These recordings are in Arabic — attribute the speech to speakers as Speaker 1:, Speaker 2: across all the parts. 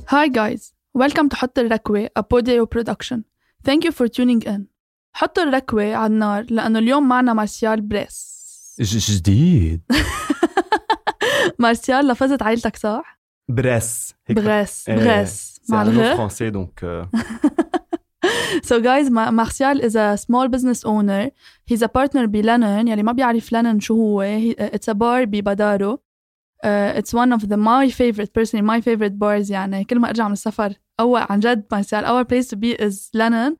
Speaker 1: Hi guys, welcome to حط الركوة, a Podio production. Thank you for tuning in. حط الركوة على النار لأنه اليوم معنا مارسيال بريس.
Speaker 2: جديد.
Speaker 1: مارسيال لفظت عائلتك صح؟
Speaker 2: بريس.
Speaker 1: بريس. مع الغ.
Speaker 2: français donc.
Speaker 1: So guys, Martial is a small business owner. He's a partner بLennon. يعني ما بيعرف لنن شو هو. It's a bar ببدارو. It's one of my favorite bars. يعني كل ما أرجع من السفر عن جد مارسيال our place to be is Lennon.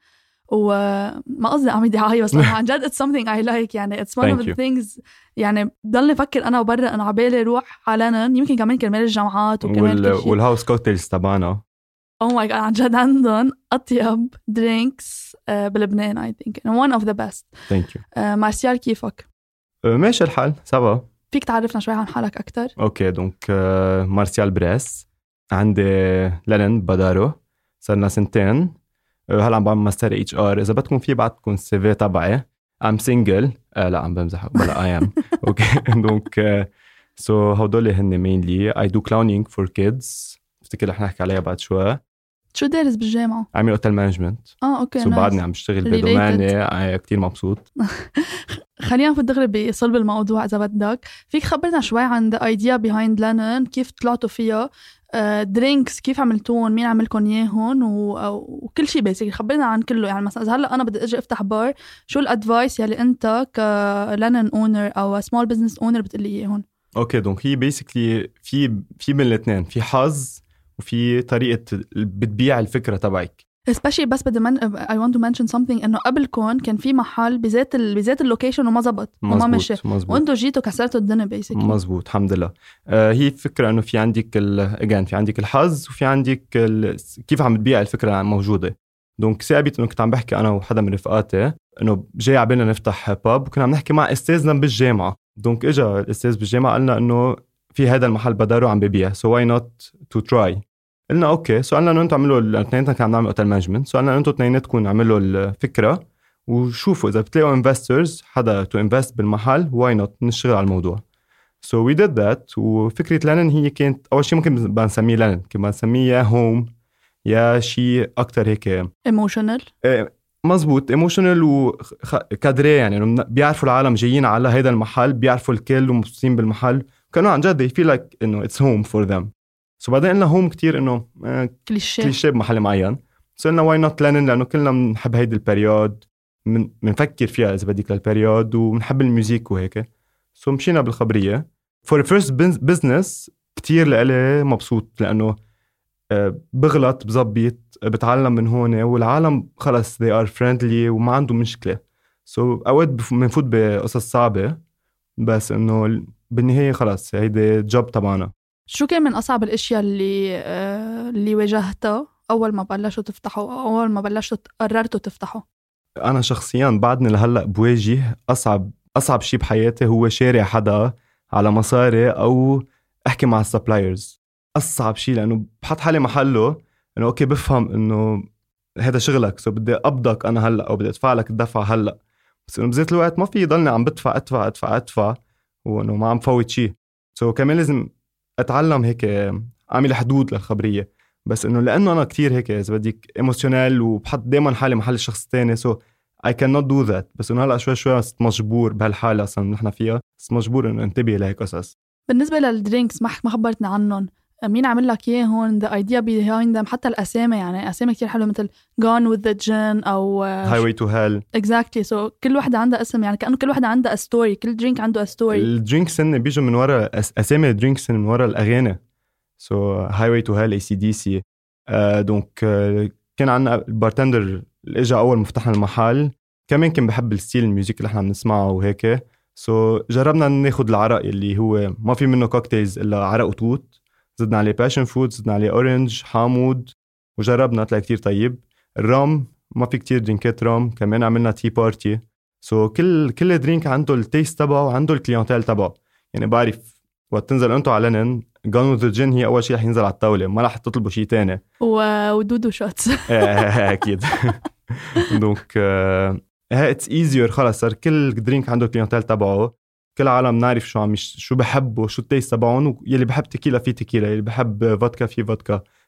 Speaker 1: وما قصدي عم دعاية بس عن جد it's something I like. يعني it's one of the things. يعني ضلني أفكر أنا وبرا أنا عبالي روح على لنن يمكن كمان كرمال الجامعات وكمان كل شيء.
Speaker 2: والهاوس كوكتيلز تبعنا
Speaker 1: Oh my god عن جد عندهم أطيب drinks بلبنان I think and one of the best.
Speaker 2: Thank you.
Speaker 1: مارسيال كيفك؟
Speaker 2: ماشي الحال سوا.
Speaker 1: فيك تعرفنا شوي عن حالك أكتر؟
Speaker 2: أوكي دونك مارسيال بريس عندي لنن بدارو صرنا 2 سنين. هلا عم بعمل ماستر HR. إذا بدكم في بعدكم CV تبعي I'm single. لا عم بمزح بلا I am. أوكي دونك so هودول هن mainly I do clowning for kids. بفتكر رح نحكي عليها بعد شوي.
Speaker 1: شو دارس بالجامعة؟
Speaker 2: عامل اوتيل مانجمنت.
Speaker 1: اوكي.
Speaker 2: سو بعدني عم بشتغل بدوماني كتير مبسوط.
Speaker 1: خلينا نفوت دغري بصلب الموضوع اذا بدك. فيك خبرنا شوي عن the idea behind Lennon, كيف طلعتوا فيها، درينكس كيف عملتوهم، مين عملكم اياهم وكل شيء بيسك. خبرنا عن كله. يعني مثلا اذا هلا انا بدي اجي افتح بار، شو الادفايس يلي انت كلنن اونر او سمول بزنس اونر بتقلي اياهم؟
Speaker 2: اوكي دونك هي بيسكلي في من الاثنين، في حظ وفي طريقة بتبيع الفكرة تبعك.
Speaker 1: especially بس بدي I want to mention something إنه قبلكم كان في محل بذات اللوكيشن وما زبط وما مشي وانتو جيتوا كسرتوا الدنيا basically.
Speaker 2: مزبوط الحمد لله. هي فكرة إنه في عندك في عندك الحظ وفي عندك كيف عم تبيع الفكرة موجودة. دونك ثابت إنه كنت عم بحكي أنا وحدا من رفقاتي إنه جاي عبالنا نفتح باب، وكنا عم نحكي مع أستاذنا بالجامعة. دونك إجا الأستاذ بالجامعة قالنا إنه في هذا المحل بدارو عم ببيع so why not to try. قلنا اوكي. سؤالنا انه انتم عملوا الاثنين كنا نعمل اوتيل مانجمنت. سؤالنا انتم اثنيناتكم عملوا الفكره وشوفوا اذا بتلاقوا انفسترز حدا تو انفست بالمحل واي نوت نشتغل على الموضوع. سو وي ديد ذات. وفكره لنن هي كانت اول شيء ممكن بنسميه لنن كمان بنسميه يا هوم يا شيء اكثر هيك ايموشنال. مزبوط ايموشنال وكادري. يعني بيعرفوا العالم جايين على هذا المحل، بيعرفوا الكل ومبسوطين بالمحل، كانوا عن جد يفيل لايك انه اتس هوم فور ذم. سو بعدين قلنا هوم كتير إنه كليشيه بمحل معين. سو قلنا واي نوت لنن لأنه كلنا بنحب هيدي البريود، بنفكر فيها إذا بديك للبريود وبنحب الموسيقى وهيك. سو مشينا بالخبرية. for first business كتير لألي مبسوط لأنه بغلط بزبط بتعلم من هون والعالم خلص they are friendly وما عنده مشكلة. سو أوقات بنفوت بقصص صعبة بس إنه بالنهاية خلص هيدي جوب تبعنا.
Speaker 1: شو كان من أصعب الأشياء اللي واجهتها أول ما بلشوا تفتحوا أو أول ما بلشوا قررتوا تفتحوا؟
Speaker 2: أنا شخصياً بعدني لهلأ بواجه أصعب شيء بحياتي هو شارع حدا على مصاري أو أحكي مع السبلايرز. أصعب شيء لأنه بحط حالي محله إنه أوكي بفهم إنه هذا شغلك سو بدي أبضك أنا هلأ أو بدي أدفع لك الدفع هلأ، بس إنه بذات الوقت ما في يضلني عم بدفع وإنه ما عم فوت شيء. سو كمان لازم أتعلم هيك أعمل حدود للخبرية. بس إنه لأنه أنا كتير هيك إذا بديك إيموشنال وبحط دايما حالي محل الشخص التاني so I cannot do that. بس إنه هلأ شوي مجبور بهالحالة أصلا نحن فيها، بس مجبور إنه انتبه لهيك قصص.
Speaker 1: بالنسبة للدرينكس ما خبرتنا عنهم، مين عمل لك إيه هون the idea behind them؟ حتى الأسامي يعني أسامي كتير حلوة مثل Gone with the Gin أو
Speaker 2: Highway to Hell.
Speaker 1: exactly. so كل واحدة عندها اسم يعني كأنه كل واحدة عندها story. كل درينك عنده story.
Speaker 2: الدرينكس إن بيجوا من وراء أسامي الدرينكس من وراء الأغاني. so Highway to Hell AC/DC. دونك كان عنا البارتندر اللي اجى اول ما فتحنا المحل كمان كان بحب الستيل الميوزك اللي احنا بنسمعه وهيك. جربنا ناخد العرق اللي هو ما في منه كوكتيلز الا عرق وتوت، زدنا عليه باشن فود، زدنا عليه اورنج حامض، وجربنا طلع كتير طيب. الرام ما في كتير درينكات رام، كمان عملنا تي بارتي. كل درينك عنده التيست تبعه وعنده الكليونتيل تبعه. يعني بعرف وقت تنزل انتو على لنن Gone with the Gin هي أول شيء رح ينزل على الطاولة، ما رح تطلبوا شيء تاني.
Speaker 1: ودودو شوتس.
Speaker 2: أكيد. دونك it's easier. خلاص صار كل درينك عنده كليونتيل تبعه، كل عالم نعرف شو بحبوا، شو التيست تبعهم. يلي بحب تكيلا في تكيلا، يلي بحب فودكا في فودكا،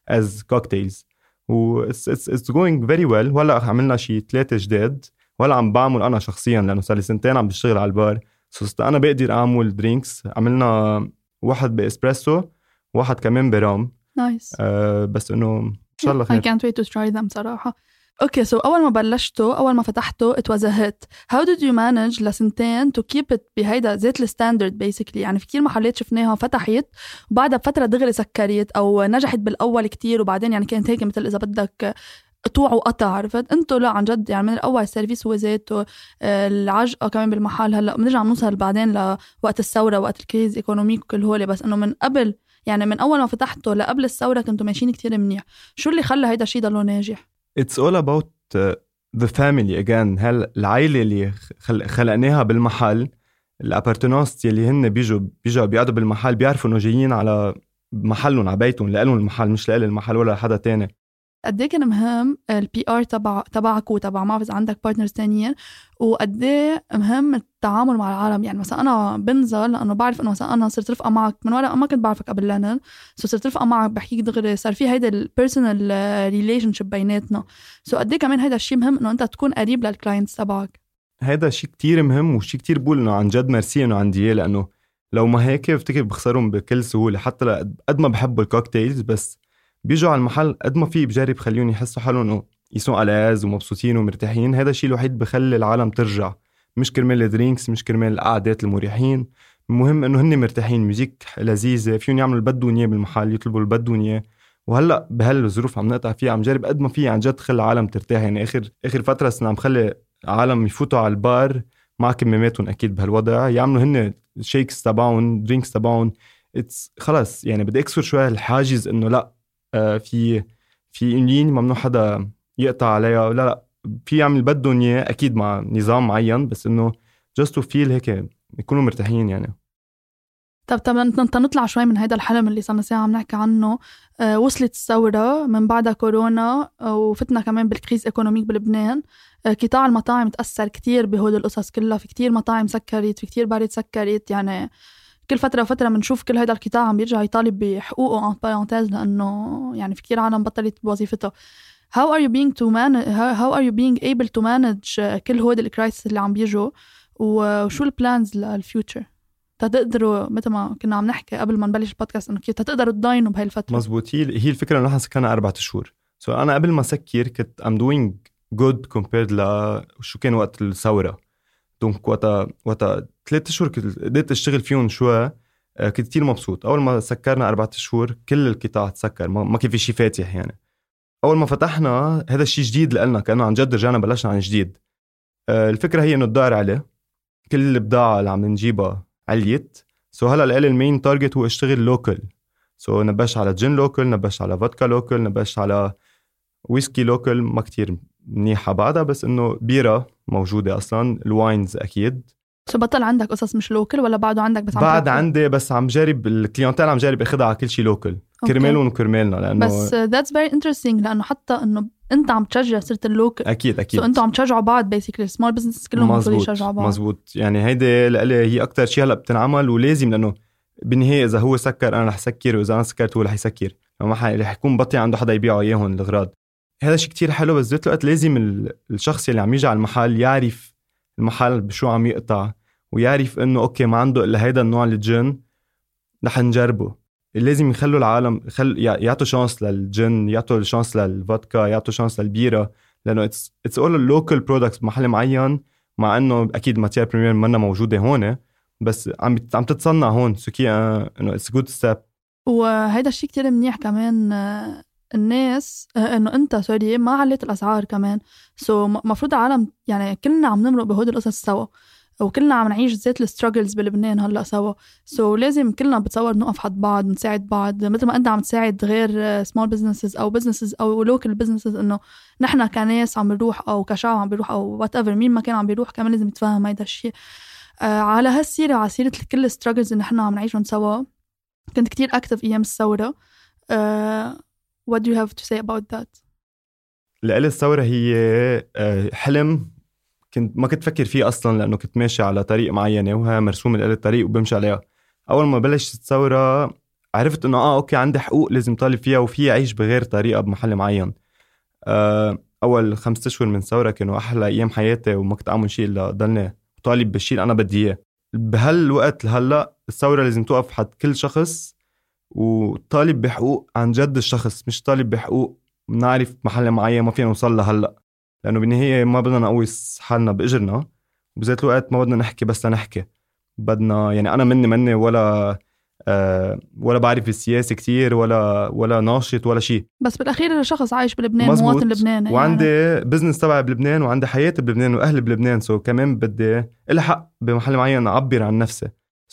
Speaker 2: as cocktails و it's going very well. وهلا عملنا شي 3 جداد ولا عم بعمل أنا شخصيا لأنه صار لي 2 سنين عم بشتغل على البار. أنا بقدر أعمل درينكس. عملنا واحد بإسبريسو واحد كمان برام.
Speaker 1: Nice.
Speaker 2: بس إنه إن شاء الله خير.
Speaker 1: I can't wait to try them صراحة. Okay, so أول ما فتحته it was a hit. How did you manage لسنتين to keep it بهيدا زيت الستاندرد basically؟ يعني في كتير محلات شفناها فتحت وبعدها بفترة دغري سكرت أو نجحت بالأول كتير وبعدين يعني كانت هيك مثل إذا بدك قطوع وقطع. عرفت انتو لا عن جد يعني من الاول السيرفيس هو زيته العجقه كمان بالمحل. هلا بنرجع نوصل بعدين لوقت الثوره وقت الكريز ايكونوميك وكل هول، بس انه من قبل يعني من اول ما فتحته لقبل الثوره كنتوا ماشيين كتير منيح. شو اللي خلى هيدا الشيء ضله ناجح؟
Speaker 2: It's all about the family again. العائله اللي خلقناها بالمحل، الابارتنانس اللي هن بيجوا بيقعدوا بالمحل بيعرفوا انه جايين على محلهم على بيتهم لهم المحل مش لإل المحل ولا حدا تاني.
Speaker 1: قد ايه كان مهم البي ار تبعك وتبع ما بعرف عندك بارتنرز تانيين، وقد ايه مهم التعامل مع العالم؟ يعني مثلا انا بنزل لانه بعرف انه مثلا انا صرت رفقه معك من وراء ما كنت بعرفك قبل لندن، صرت رفقه معك بحكيك دغري، صار في هيدا البيرسونال ريليشن شيب بيناتنا. قد ايه كمان هيدا الشيء مهم انه انت تكون قريب للكلاينتس تبعك. هيدا
Speaker 2: شيء كتير مهم وشيء كتير بقول انه عن جد ميرسي انه عندي اياه، لانه لو ما هيك بفتكر بخسرهم بكل سهوله. حتى قد ما بحبوا الكوكتيلز بس بيجوا على المحل قد ما في بجرب خليهم يحسوا حالهم انه يسون ألاز ومبسوطين ومرتاحين. هذا الشيء الوحيد بخلي العالم ترجع، مش كرمال الدرينكس مش كرمال القعدات المريحين. المهم انه هن مرتاحين، ميوزيك لذيذه، فيهم يعملوا اللي بدهم اياه بالمحل، يطلبوا اللي بدهم اياه. وهلا بهالظروف عم نقطع فيها عم جرب قد ما في عن جد خلي العالم ترتاح. يعني اخر فتره صرنا عم خلي عالم يفوتوا على البار مع كماماتهم اكيد بهالوضع، يعملوا هن شيكس تبعهم درينكس تبعهم. خلص يعني بدي اكسر شويه الحاجز انه لا في لين ممنوع حدا يقطع عليها، لا في يعمل بدهم اياه اكيد مع نظام معين، بس انه just to feel هيك يكونوا مرتاحين يعني.
Speaker 1: طب نطلع شوي من هيدا الحلم اللي صرنا ساعة عم نحكي عنه. وصلت الثورة من بعدها كورونا وفتنا كمان بالكريز ايكونوميك بلبنان. قطاع المطاعم تأثر كتير بهول القصص كلها، في كتير مطاعم سكرت، في كتير بارد سكرت. يعني كل فترة وفترة بنشوف كل هيدا القطاع عم بيرجع يطالب بحقوقه ان بارانتيز، لأنه يعني في كتير عالم بطلت بوظيفتها. How are you being able to manage كل هود الكرايسيس اللي عم بيجوا، وشو البلانز للفيوتشر تقدروا مثل ما كنا عم نحكي قبل ما نبلش البودكاست انه كيف تقدروا تضاينوا بهاي الفترة؟
Speaker 2: مزبوط. هي الفكرة انه نحن سكرنا 4 شهور. انا قبل ما سكر كنت I'm doing good compared شو كان وقت الثورة. دونك وقتا 3 شهور كنت قدرت اشتغل فيهم شوي، كنت كتير مبسوط. اول ما سكرنا 4 شهور كل القطاع تسكر، ما كان في شيء فاتح. يعني اول ما فتحنا هذا الشيء جديد لنا، كأنه عن جد رجعنا بلشنا عن جديد. الفكرة هي انه الدار عليه، كل البضاعة اللي عم نجيبها عليت. هلا لقلي المين تارجت هو اشتغل لوكل. نبش على جين لوكل، نبش على فودكا لوكل، نبش على ويسكي لوكل ما كتير منيحة بعدها، بس انه بيرة موجودة اصلا، الواينز اكيد.
Speaker 1: بطل عندك قصص مش لوكل ولا بعده عندك؟ بس
Speaker 2: بعد عندي، بس عم جارب الكليونتال عم جارب اخدها على كل شيء لوكل كرمالهم وكرمالنا. لانه
Speaker 1: بس that's very interesting، لانه حتى انه انت عم تشجع صرت اللوكل.
Speaker 2: اكيد
Speaker 1: انتوا عم تشجعوا بعض بيسكلي، السمول بزنس كلهم المفروض يشجعوا بعض.
Speaker 2: مزبوط. يعني هيدي لقلي هي اكتر شيء هلا بتنعمل، ولازم، لانه بالنهايه اذا هو سكر انا رح سكر، واذا انا سكرت هو رح يسكر، ما رح يكون بطي عنده حدا يبيعه اياهم الاغراض. هذا شيء كتير حلو، بس ذات الوقت لازم الشخص اللي عم يجي على المحل يعرف المحل بشو عم يقطع، ويعرف انه اوكي ما عنده الا هيدا النوع الجن رح نجربه. لازم يخلوا العالم يعطوا شانس للجن، يعطوا شانس للفودكا، يعطوا شانس للبيرة، لانه it's all local products بمحل معين. مع انه اكيد ماتير بريمير منا موجوده هون، بس عم تتصنع هون، سكي انه it's good step.
Speaker 1: وهيدا الشيء كتير منيح كمان الناس انه انت ما عليت الاسعار كمان. مفروض العالم يعني كلنا عم نمرق بهود القصص سوا، وكلنا عم نعيش زيت الستراجلز بلبنان هلا سوا. لازم كلنا بتصور نقف حد بعض، نساعد بعض، مثل ما انت عم تساعد غير سمول بزنسز او بزنسز او لوكال بزنسز. انه نحن كناس عم بنروح او كشعب عم بيروح او وات ايفر مين ما كان عم بيروح، كمان لازم يتفهم هيدا الشيء. على هالسيره، على سيره كل الستراجلز اللي نحن عم نعيشهم سوا، كنت كتير اكتف ايام الثوره. what do you have to say about that؟
Speaker 2: لقلي الثوره هي حلم ما كنت فكر فيه أصلاً، لأنه كنت ماشي على طريق معينة وها مرسوم لقلي الطريق وبمشي عليها. أول ما بلشت الثورة عرفت انه اوكي عندي حقوق لازم طالب فيها وفي اعيش بغير طريقه بمحل معين. اول 5 أشهر من ثوره كانوا احلى ايام حياتي وما كنت اعمل شيء الا ضلني طالب بالشيء اللي انا بدي اياه. بهالوقت هلا الثوره لازم توقف حد كل شخص وطالب بحقوق عن جد الشخص، مش طالب بحقوق بنعرف محل معين ما فينا نوصل له هلا، لانه بالنهايه ما بدنا نقوس حالنا باجرنا، وبذات الوقت ما بدنا نحكي بس لنحكي. بدنا يعني انا مني ولا بعرف السياسة كتير ولا ناشط ولا شيء،
Speaker 1: بس بالأخير شخص عايش بلبنان، مواطن لبناني
Speaker 2: وعندي
Speaker 1: يعني.
Speaker 2: بزنس تبعي بلبنان وعندي حياتي بلبنان وأهلي بلبنان. كمان بدي الحق بمحل معين أعبر عن نفسي.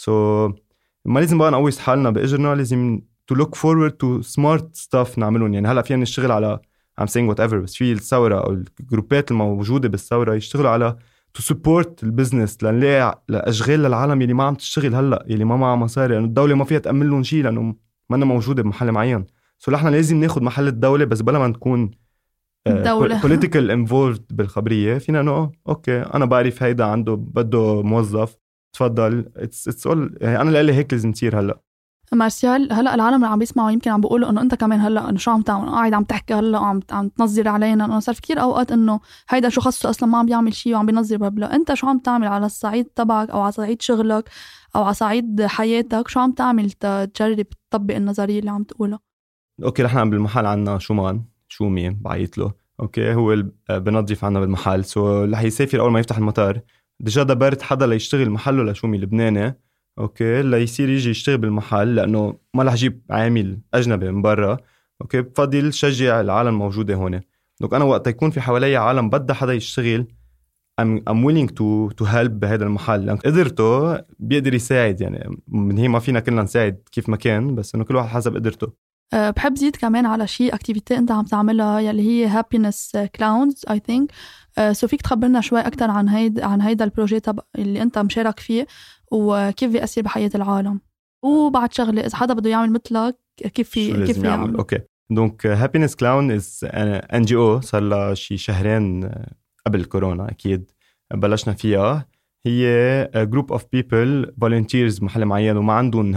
Speaker 2: ما لازم بقى نقويس حالنا بإجرنا، لازم to look forward to smart stuff نعملون. يعني هلأ فينا نشتغل على I'm saying whatever، بس في الثورة أو الجروبات الموجودة بالثورة يشتغلوا على to support البزنس لنلاقي لأشغال للعالم يلي ما عم تشتغل هلأ، يلي ما معها مصاري، لأنه الدولة ما فيها تأمن لهم شيء لأنه ما أنا موجودة بمحل معين. نحن لازم ناخد محل الدولة، بس بلا ما نكون political involved بالخبرية. فينا أنه أوكي أنا بعرف هيدا عنده بده موظف، تفضل it's all. يعني أنا لقلي هيك لازم تصير هلأ.
Speaker 1: مارسيال، هلا العالم اللي عم بيسمعوا يمكن عم بيقولوا انه انت كمان هلا انه شو عم تعمل، قاعد عم تحكي هلا عم تنظر علينا. انه صار كثير اوقات انه هيدا شو خصه اصلا ما عم بيعمل شيء وعم بينظر ببلا. انت شو عم تعمل على الصعيد تبعك او على صعيد شغلك او على صعيد حياتك؟ شو عم تعمل تجرب تطبق النظريه اللي عم تقولها؟
Speaker 2: اوكي نحن بالمحل عنا شو بعيط له اوكي هو بنظف عنا بالمحل. رح يسافر اول ما يفتح المطار ديجا دبرت حدا ليشتغل محله لشومي لبناني اوكي ليصير يجي يشتغل بالمحل، لانه ما رح اجيب عامل اجنبي من برا. اوكي بفضل شجع العالم موجوده هون. دونك انا وقت يكون في حوالي عالم بدها حدا يشتغل I'm willing to help بهذا المحل، لأن قدرته بيقدر يساعد. يعني من هي ما فينا كلنا نساعد كيف ما كان، بس انه كل واحد حسب قدرته.
Speaker 1: بحب زيد كمان على شيء اكتيفيتي انت عم تعملها يلي هي happiness clowns I think. فيك تخبرنا شوي اكثر عن هيدا البروجي اللي انت مشارك فيه وكيف بيأثر بحياة العالم؟ وبعد شغله اذا حدا بده يعمل مثلك كيف يعمل؟
Speaker 2: اوكي دونك happiness clown is NGO صار لها شي شهرين قبل كورونا اكيد بلشنا فيها. هي group of people volunteers محل معين وما عندهم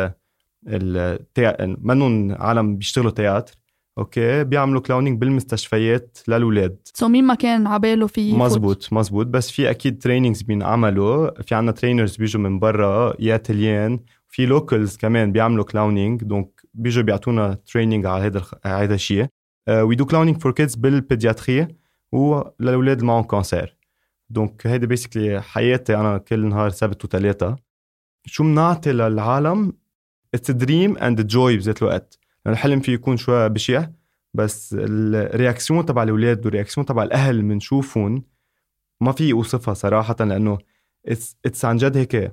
Speaker 2: منهم عالم بيشتغلوا تياتر اوكي بيعملوا كلاونينج بالمستشفيات للولاد.
Speaker 1: مين ما كان عباله في
Speaker 2: مزبوط بس في اكيد ترينينجز بينعملوا. في عنا ترينرز بيجوا من برا يا تليان، في لوكالز كمان بيعملوا كلاونينج دونك بيجوا بيعطونا ترينينج على هذا الشيء. وي دو كلاونينج فور كيدز بالبيدياتري وللولاد اللي معهم كانسير. دونك هيدا بيسكلي حياتي انا كل نهار سبت وثلاثة. شو بنعطي للعالم؟ It's a dream and a joy بذات الوقت. الحلم فيه يكون شوي بشع، بس الرياكسيون تبع الأولاد والرياكسيون تبع الأهل منشوفون ما في أوصفها صراحة، لأنه it's عن جد هيك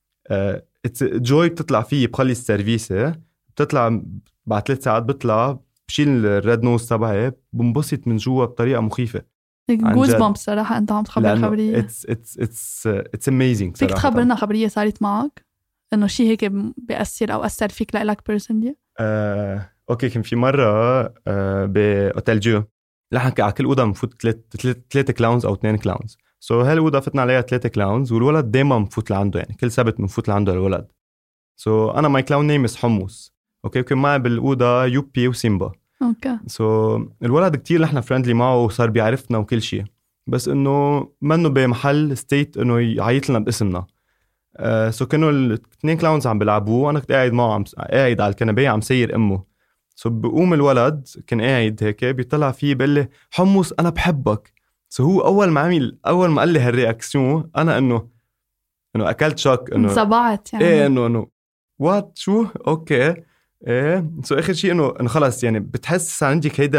Speaker 2: it's joy. بتطلع فيه بخلي السيرفيسة بتطلع بعد 3 ساعات بطلع بشيل الريد نوز تبعي بنبسط من جوا بطريقة مخيفة.
Speaker 1: جوز بامب صراحة أنت عم تخبر خبرية.
Speaker 2: it's amazing.
Speaker 1: فيك تخبرنا خبرية صارت معك إنه شيء هيك بيأثر أو أثر فيك لك بيرسونلي؟
Speaker 2: أوكي كان في مرة بأوتيل جو لحن على كل أوضة مفوت 3 كلاونز أو 2 كلاونز. هالأوضة فتنا عليها 3 كلاونز والولد دايما مفوت لعنده، يعني كل سبت مفوت لعنده الولد. أنا ماي كلاون نيم حمص أوكي وكان معي بالأوضة يوبي وسيمبا اوكي. الولد كتير نحن فريندلي معه وصار بيعرفنا وكل شيء، بس انه منه بمحل ستيت انه يعيط لنا باسمنا. كانوا الاثنين كلاونز عم بيلعبوه وانا كنت قاعد معه قاعد على الكنبايه عم سير امه. بقوم الولد كان قاعد هيك بيطلع فيه بيقول لي حمص انا بحبك. هو اول ما قال لي هالرياكسيون انا انه اكلت شوك انه
Speaker 1: انصبعت يعني
Speaker 2: ايه انه وات شو اوكي ايه. اخر شيء انه خلص يعني بتحس عندك هيدا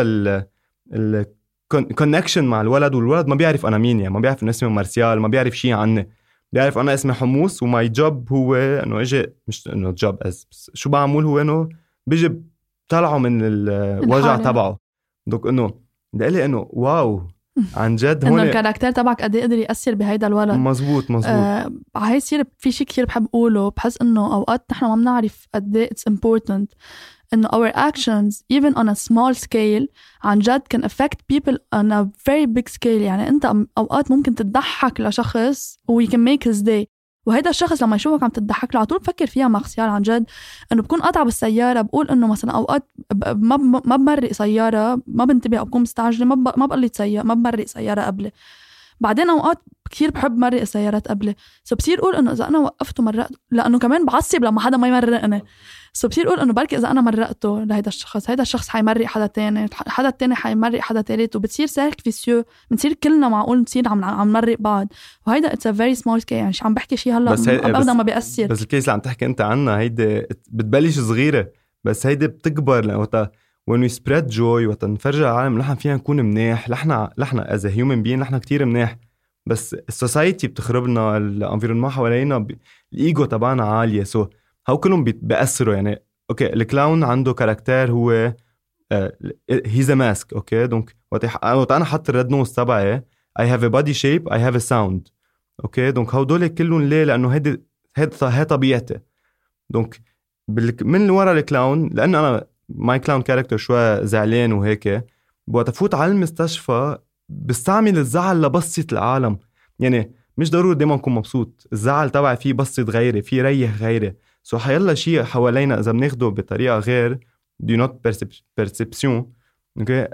Speaker 2: ال connection مع الولد، والولد ما بيعرف انا مين، يعني ما بيعرف انه اسمي مارسيال، ما بيعرف شيء عني، بيعرف انا اسمي حموس وماي جوب هو انه اجي مش انه جوب شو بعمل هو انه بيجي طلعه من الوجع تبعه. دوك انه دقلي انه واو عن جد هون
Speaker 1: انه الكاركتر تبعك قد ايه قدر ياثر بهيدا الولد.
Speaker 2: مزبوط
Speaker 1: هاي يصير في شيء كثير بحب اقوله، بحس انه اوقات نحن ما بنعرف قد ايه it's important انه our actions even on a small scale عن جد can affect people on a very big scale. يعني انت اوقات ممكن تضحك لشخص و you can make his day، وهيدا الشخص لما يشوفك عم تضحك له على طول بفكر فيها مارسيال عن جد انه بكون قاطعه بالسياره، بقول انه مثلا اوقات ما بمرق سياره، ما بنتبه او بكون مستعجله، ما بقلي سياره، ما بمرق سياره قبل. بعدين اوقات كثير بحب مرق السيارات قبل، سو بصير اقول انه اذا انا وقفته مرقت، لانه كمان بعصب لما حدا ما يمرقني، سو بصير اقول انه بركي اذا انا مرقته لهيدا الشخص، هيدا الشخص حيمرق حدا تاني، حدا تاني حيمرق حدا تالت، وبتصير سيرك فيسيو، بنصير كلنا معقول نصير عم نمرق بعض. وهيدا اتس ا فيري سمول كيس، يعني عم بحكي شيء هلا ابدا ما بيأثر.
Speaker 2: بس الكيس اللي عم تحكي انت عنها هيدي بتبلش صغيره بس هيدي بتكبر، لأنه when we spread joy وتنفرج العالم نحن فينا نكون منيح، نحن as a human being نحن كتير منيح، بس السوسايتي بتخربنا، الانفيرونمنت حوالينا، الايجو تبعنا عاليه، سو هاو كلهم بيأثروا. يعني اوكي الكلاون عنده كاركتير هو هيز ا ماسك، اوكي دونك وقت انا حط الريد نوز تبعي I have a body shape I have a sound، اوكي دونك هودول كلهم ليه؟ لانه هيدا طبيعتي. دونك من ورا الكلاون، لان انا ماي كلاون كاركتر شوي زعلان وهيك، بوقت افوت على المستشفى بستعمل الزعل لبسط العالم. يعني مش ضروري دايما اكون مبسوط، الزعل تبعي فيه بسط غيري، فيه ريح غيري، سو حيلا شيء حوالينا اذا بناخده بطريقه غير do not perception، اوكي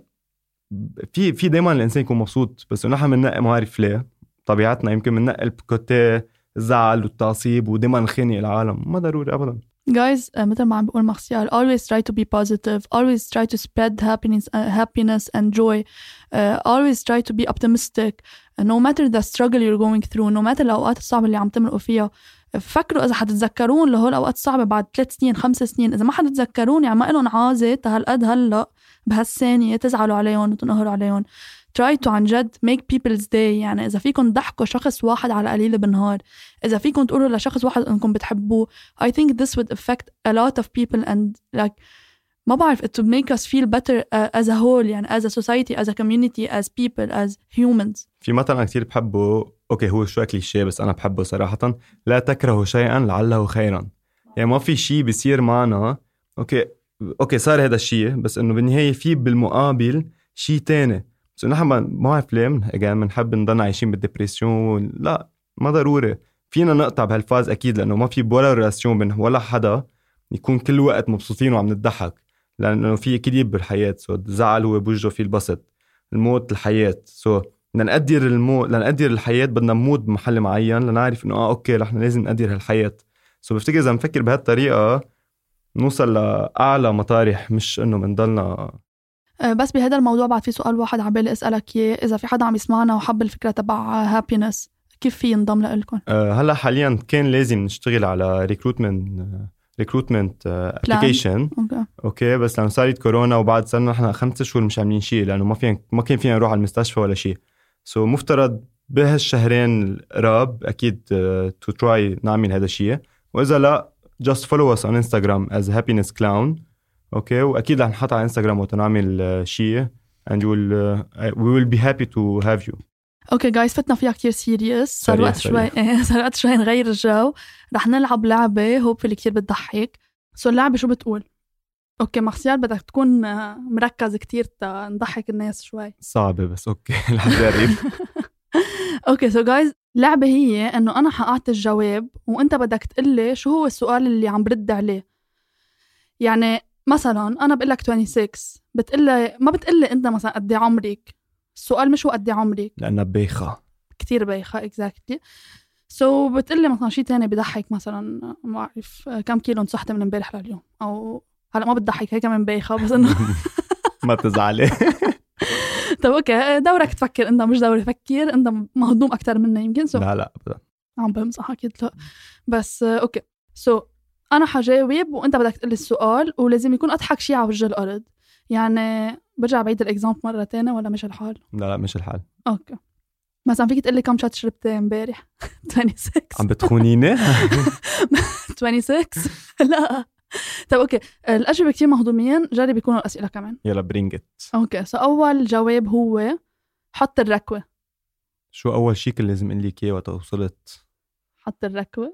Speaker 2: في دايما الانسان يكون مبسوط، بس نحن بننقي، ما عارف ليه طبيعتنا يمكن بننقي بكوتي الزعل والتعصيب ودايما نخنق العالم، ما ضروري ابدا.
Speaker 1: Guys, مثل ما عم بقول مارسيال, always try to be positive, always try to spread happiness and joy, always try to be optimistic, no matter the struggle you're going through, no matter الأوقات الصعبة اللي عم تمرقوا فيها. فكروا إذا حتتذكرون لهول الأوقات الصعبة بعد 3 سنين 5 سنين، إذا ما حتتذكرون يعني ما إلهم عازة هالقد هلأ بهالثانية تزعلوا عليهم وتنقهروا عليهم. try to عن جد make people's day. يعني إذا فيكم ضحكوا شخص واحد على قليل بالنهار، إذا فيكم تقولوا لشخص واحد إنكم بتحبوه, I think this would affect a lot of people and like ما بعرف it would make us feel better as a whole, يعني as a society, as a community, as people, as humans.
Speaker 2: في مثلا كتير بحبه، أوكي هو شوي كليشيه بس أنا بحبه صراحة، لا تكرهوا شيئا لعله خيرا. يعني ما في شيء بيصير معنا أوكي صار هذا الشيء، بس إنه بالنهاية في بالمقابل شيء تاني. بس نحن ما عارف ليه بنحب نضلنا عايشين بالديبريسيون. لا ما ضروري، فينا نقطع بهالفاز أكيد، لأنه ما في ولا ريلاسيون بين ولا حدا يكون كل وقت مبسوطين وعم نضحك، لأنه في إكليب بالحياة. الزعل هو بوجهه في البسط، الموت الحياة. لنقدر الحياة بدنا نموت بمحل معين لنعرف إنه أوكي نحن لازم نقدر هالحياة. بفتكر إذا نفكر بهالطريقة نوصل لأعلى مطارح، مش إنه بنضلنا.
Speaker 1: بس بهذا الموضوع بعد في سؤال واحد عبالي أسألك إياه، إذا في حدا عم يسمعنا وحب الفكرة تبع هابينس كيف في ينضم لإلكم؟
Speaker 2: هلا حاليا كان لازم نشتغل على ريكروتمنت ابليكيشن. اوكي بس لما صارت كورونا وبعد صرنا نحن 5 شهور مش عاملين شيء، لانه ما كان فينا نروح على المستشفى ولا شيء. مفترض بهالشهرين القراب اكيد تو تراي نعمل هذا الشيء، واذا لا just follow us on Instagram as happiness clown. اوكي واكيد رح نحط على انستغرام وتنعمل شيء and we will be happy to have you.
Speaker 1: اوكي جايز فتنا فيها كتير سيريس، صار وقت شوي نغير الجو. رح نلعب لعبة هوبفلي كتير بتضحك. اللعبة شو بتقول؟ اوكي مارسيال بدك تكون مركز كتير نضحك الناس شوي.
Speaker 2: صعبة بس اوكي رح نجرب.
Speaker 1: اوكي جايز اللعبة هي انه انا حقعت الجواب وانت بدك تقلي شو هو السؤال اللي عم برد عليه. يعني مثلا انا بقول لك 26، ما بتقلي انت مثلا قد ايه عمرك. السؤال مش هو قد ايه عمرك،
Speaker 2: لأنها بايخة كتير
Speaker 1: بايخة exactly. بتقلي مثلا شيء تاني بضحك، مثلا ما أعرف كم كيلو نصحت من امبارح لليوم، أو هلأ ما بتضحك هيك من بايخة بس إنه
Speaker 2: ما تزعلي.
Speaker 1: طب أوكي دورك تفكر أنت، مش دوري فكر أنت مهضوم أكتر مني يمكن.
Speaker 2: لا أبدا
Speaker 1: عم بمزح أكيد لا، بس أوكي أنا حجاوب وأنت بدك تقلي السؤال، ولازم يكون أضحك شيء على وجه الأرض. يعني برجع بعيد الإكزامبل مرة تانية ولا مش الحال؟
Speaker 2: لا مش الحال.
Speaker 1: أوكي مثلا فيك تقلي كم شات شربت امبارح؟ 26.
Speaker 2: عم بتخونيني؟
Speaker 1: 26 لا. طب اوكي الأجوبة كتير مهضومين، جرب يكونوا الأسئلة كمان.
Speaker 2: يلا برينجت.
Speaker 1: اوكي أول جواب هو حط الركوة.
Speaker 2: شو أول شيء كان لازم أقول لك إياه وقت وصلت؟
Speaker 1: حط الركوة.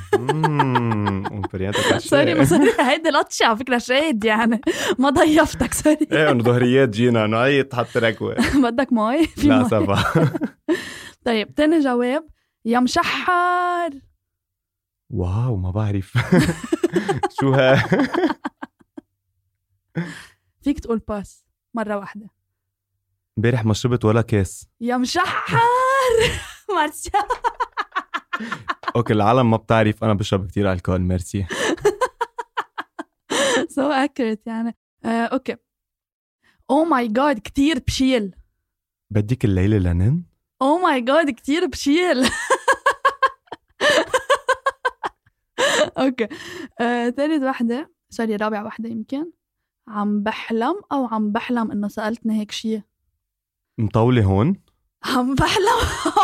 Speaker 2: سوري
Speaker 1: هيدي لطشة على فكرة شاهد، يعني ما ضيفتك سوري.
Speaker 2: ايه انه ظهريات جينا انه هي تحط ركوة.
Speaker 1: بدك ماي؟
Speaker 2: لا سبا.
Speaker 1: طيب تاني جواب، يا مشحر.
Speaker 2: واو ما بعرف. شو ها؟
Speaker 1: فيك تقول باس مرة واحدة.
Speaker 2: امبارح ما شربت ولا كاس.
Speaker 1: يا مشحر. مارسيال.
Speaker 2: اوكي العالم ما بتعرف انا بشرب كتير الكول. ميرسي.
Speaker 1: so accurate يعني. اوكي. او ماي جاد كتير بشيل.
Speaker 2: بدك الليلة لنن؟
Speaker 1: او ماي جاد كتير بشيل. اوكي. ثالث واحدة، سوري رابع واحدة يمكن. عم بحلم انه سألتني هيك شيء.
Speaker 2: مطولة هون؟
Speaker 1: عم بحلم.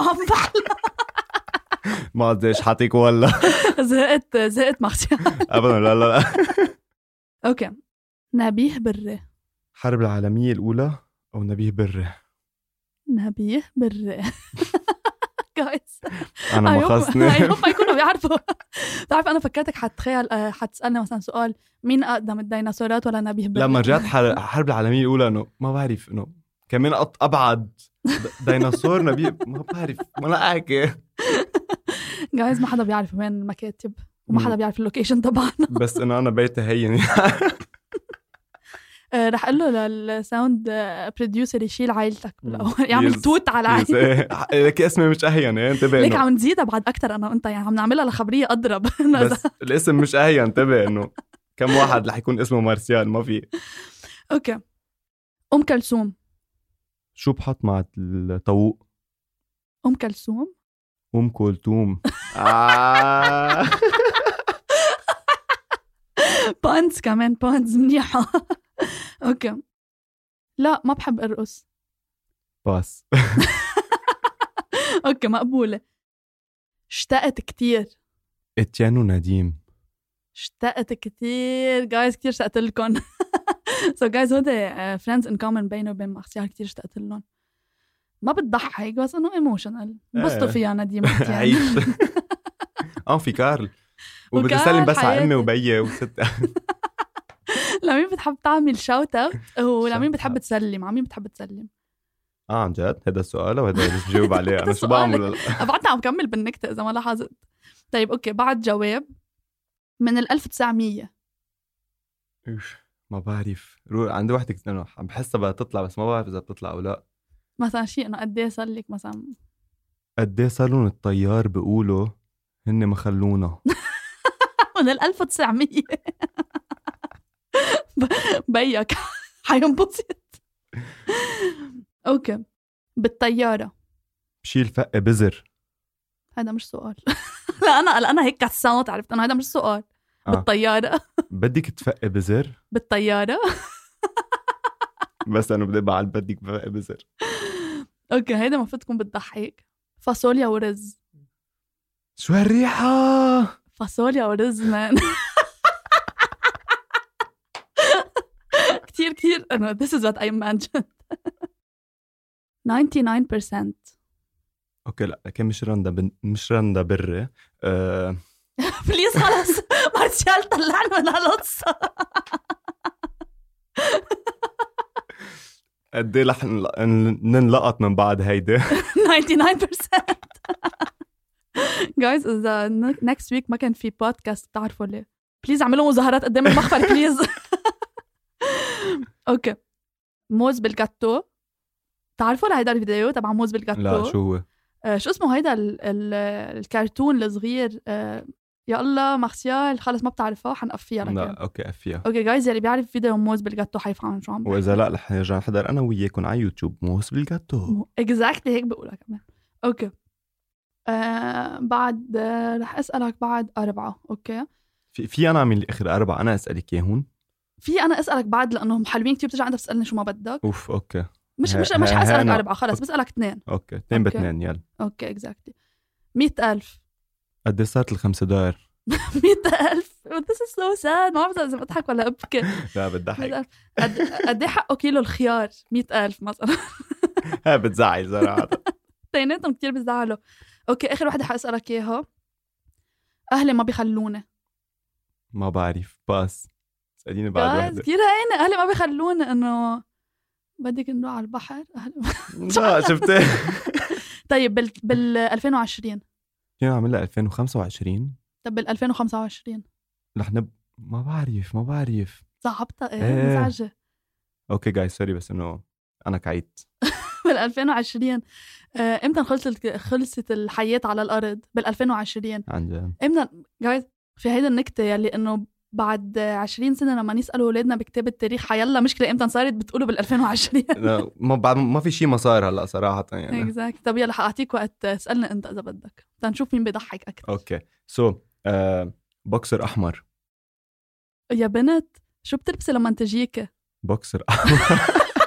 Speaker 2: ما قديش حاطيك ولا.
Speaker 1: زهقت مارسيال.
Speaker 2: ابدا لا.
Speaker 1: اوكي. نبيه بري.
Speaker 2: حرب العالمية الأولى أو نبيه بري؟
Speaker 1: نبيه بري. جايز
Speaker 2: أنا ما خصني.
Speaker 1: ما يكونوا بيعرفوا. تعرف أنا فكرتك حتسألني مثلا سؤال مين أقدم الديناصورات ولا نبيه بري.
Speaker 2: لما رجعت حرب العالمية الأولى إنه ما بعرف إنه كمان أبعد ديناصور نبيه ما بعرف ما لا أحكي.
Speaker 1: جايز ما حدا بيعرف وين المكاتب وما حدا بيعرف اللوكيشن تبعنا.
Speaker 2: بس إنه أنا بيتي هين.
Speaker 1: رح أقول له للساوند بروديوسر يشيل عائلتك بالأول يعمل توت على عائلتك.
Speaker 2: لك اسمي مش أهين انتبه.
Speaker 1: ليك عم نزيدها بعد أكتر أنا وأنت يعني عم نعملها لخبرية أضرب.
Speaker 2: بس الاسم مش أهين انتبه إنه كم واحد رح يكون اسمه مارسيال ما في.
Speaker 1: أوكي. أم كلثوم.
Speaker 2: شو بحط مع الطوق؟
Speaker 1: أم كلثوم.
Speaker 2: أم كلثوم.
Speaker 1: بانز كمان بانز منيحة. أوكي. لا ما بحب أرقص.
Speaker 2: باس.
Speaker 1: أوكي مقبولة. اشتقت كتير.
Speaker 2: اتيان ونديم.
Speaker 1: اشتقت كتير جايز كتير اشتقت لكم. so guys هودي friends in common بيني وبين مارسيال كتير اشتقت لهم. ما بتضحك بس انه ايموشنال بسطوا فيها نديم.
Speaker 2: عيش. في كارل وبدي اسلم بس على امي وبيي وستة.
Speaker 1: لمين بتحب تعمل شاوت اوت ولمين بتحب تسلم؟ عمين بتحب تسلم؟
Speaker 2: عن جد هذا السؤال وهذا اللي بجاوب عليه انا شو بعمل؟
Speaker 1: بعدنا عم كمل بالنكته اذا ما لاحظت. طيب اوكي بعد جواب من 1900.
Speaker 2: ما بعرف عندي وحده انه عم بحسها بدها تطلع بس ما بعرف اذا بتطلع او لا.
Speaker 1: مثلا شيء انه قد ايه صار لك مثلا
Speaker 2: قد ايه صار لهم الطيار بيقولوا هن ما خلونا.
Speaker 1: من 1900. بيك حينبسط. اوكي. بالطياره
Speaker 2: بشيل فق بزر.
Speaker 1: هذا مش سؤال. لا انا هيك كسانت عرفت انه هذا مش سؤال. بالطياره.
Speaker 2: بدك تفق بزر
Speaker 1: بالطياره.
Speaker 2: بس انا بدي بعد بدك تفق بزر.
Speaker 1: اوكي هيدا المفروض تكون بتضحك. فاصوليا ورز.
Speaker 2: شو هالريحه؟
Speaker 1: فاصوليا ورز مان. كتير أنا this is what I imagined. 99%.
Speaker 2: أوكي لا لكن مش رندا بري.
Speaker 1: بليز خلص مارسيال طلعنا من هالقصة.
Speaker 2: قد ايه رح ننلقط من بعد هيدا؟
Speaker 1: 99%. Guys إذا next week ما كان في بودكاست بتعرفوا ليه بليز اعملوا مظاهرات قدام المخفر بليز. اوكي. موز بالجاتو. تعرفوا لهيدا الفيديو تبع موز بالجاتو؟
Speaker 2: لا شو هو؟
Speaker 1: شو اسمه هيدا الكرتون الصغير. يا الله مارسيال خلص ما بتعرفه حنقفيها لك.
Speaker 2: لا اوكي قفيها.
Speaker 1: اوكي جايز اللي بيعرف فيديو موز بالجاتو حيفهم شو عم بحكي.
Speaker 2: واذا لا رح نرجع نحضر انا وياكم على يوتيوب موز بالجاتو.
Speaker 1: اكزاكتلي هيك بقولها كمان. اوكي. بعد رح اسالك بعد 4. اوكي
Speaker 2: في انا اعمل اخر 4 انا اسالك اياهم. في
Speaker 1: انا اسالك بعد لانه حلوين كتير بترجع انت تسالني شو ما بدك.
Speaker 2: اوف اوكي.
Speaker 1: مش حاسالك 4 خلص بسالك 2.
Speaker 2: اوكي 2 ب2 يلا.
Speaker 1: اوكي اكزاكتلي. 100,000.
Speaker 2: قد ايه صارت ال5 دولار؟
Speaker 1: 100,000. This is so sad. ما بعرف إذا بضحك ولا أبكي.
Speaker 2: لا بتضحك.
Speaker 1: قد إيه حقه كيلو الخيار؟ 100,000 مثلا.
Speaker 2: ها بتزعل صراحة.
Speaker 1: تيناتهم كتير بتزعلوا. أوكي آخر واحدة حأسألك إياها. أهلي ما بيخلوني.
Speaker 2: ما بعرف باس. اسأليني بعد واحدة.
Speaker 1: كتير هينة. أهلي ما بيخلوني إنه بدك نروح على البحر.
Speaker 2: لا شفتي.
Speaker 1: طيب بال 2020
Speaker 2: فينا نعملها 2025.
Speaker 1: طب بال 2025
Speaker 2: رح ما بعرف
Speaker 1: صعبتها
Speaker 2: إيه.
Speaker 1: مزعجة.
Speaker 2: اوكي جايز سوري بس انه انا كعيت.
Speaker 1: بال 2020 امتى خلصت الحياة على الأرض؟ بال 2020
Speaker 2: عن
Speaker 1: امتى جايز في هيدا النكتة يلي انه بعد 20 سنة لما نسألوا أولادنا بكتاب التاريخ حيلا مشكلة امتى صارت بتقولوا بال 2020.
Speaker 2: ما في شيء ما صار هلا صراحة يعني.
Speaker 1: اكزاكت. طب يلا حأعطيك وقت اسألنا انت إذا بدك تنشوف مين بيضحك أكثر.
Speaker 2: اوكي بوكسر احمر.
Speaker 1: يا بنت شو بتلبسي لما تجيك؟
Speaker 2: بوكسر احمر.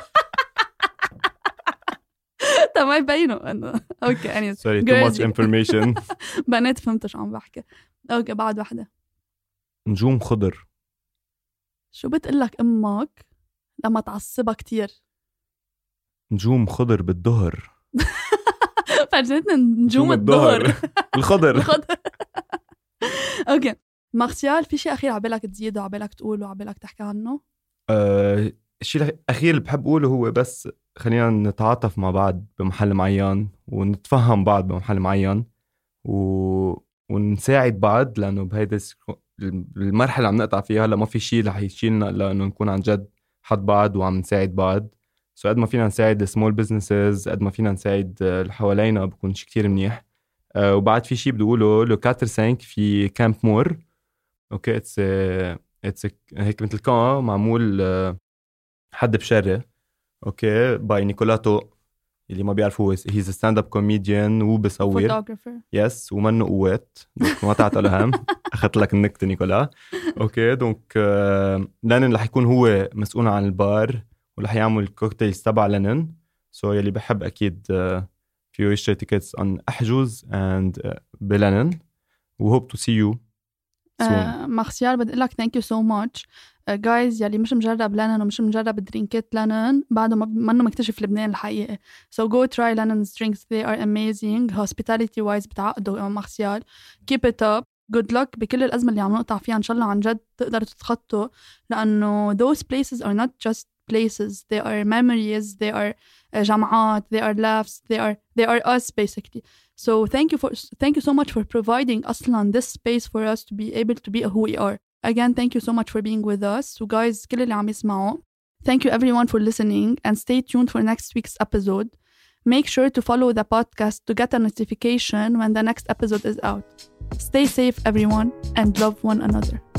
Speaker 1: طب ما يبينوا انه اوكي يعني
Speaker 2: سوري too much information.
Speaker 1: بنات فهمت شو عم بحكي. اوكي بعد واحدة.
Speaker 2: نجوم خضر.
Speaker 1: شو بتقلك امك لما تعصبها كتير؟
Speaker 2: نجوم خضر بالظهر.
Speaker 1: فرجتنا نجوم الظهر.
Speaker 2: الخضر.
Speaker 1: الخضر. اوكي مارسيال في شيء اخير عبالك تزيده عبالك تقوله عبالك تحكي عنه؟
Speaker 2: الشيء الأخير اللي بحب أقوله هو بس خلينا نتعاطف مع بعض بمحل معين ونتفهم بعض بمحل معين ونساعد بعض، لأنه بهيدا المرحلة اللي عم نقطع فيها هلا ما في شيء رح يشيلنا إلا إنه نكون عن جد حد بعض وعم نساعد بعض. قد ما فينا نساعد السمول بيزنسز قد ما فينا نساعد اللي حوالينا بكون شيء كتير منيح. وبعد في شيء بدي أقوله لو 4-5 في كامب مور. أوكي اتس هيك مثل كان معمول حد بشرة اوكي باي نيكولاتو اللي ما بيعرف هو هيز ستاند اب كوميديان وبصور
Speaker 1: فوتوغرافر
Speaker 2: يس ومنه قوات ما تعطى لهم. اخذت لك النكته نيكولا. اوكي دونك لانن رح يكون هو مسؤول عن البار ورح يعمل الكوكتيلز تبع لانن. سو يلي بحب اكيد فيو يشتري تيكتس عن احجز اند بلانن و hope to see you.
Speaker 1: مارسيال بدي لك thank you so much guys. يلي مش مجرب لانن ومش مجرب درينكات لانن بعده منه مكتشف لبنان الحقيقة. so go try Lennon's drinks, they are amazing. hospitality wise بتعقدوا مارسيال. keep it up, good luck بكل الأزمة اللي عم نقطع فيها. إن شاء الله عن جد تقدروا تتخطوا، لأنه those places are not just places, they are memories, they are جمعات, they are laughs, they are us basically. So thank you so much for providing أصلا this space for us to be able to be who we are. Again, thank you so much for being with us. So guys, كل اللي عم يسمعوا, thank you everyone for listening and stay tuned for next week's episode. Make sure to follow the podcast to get a notification when the next episode is out. Stay safe everyone and love one another.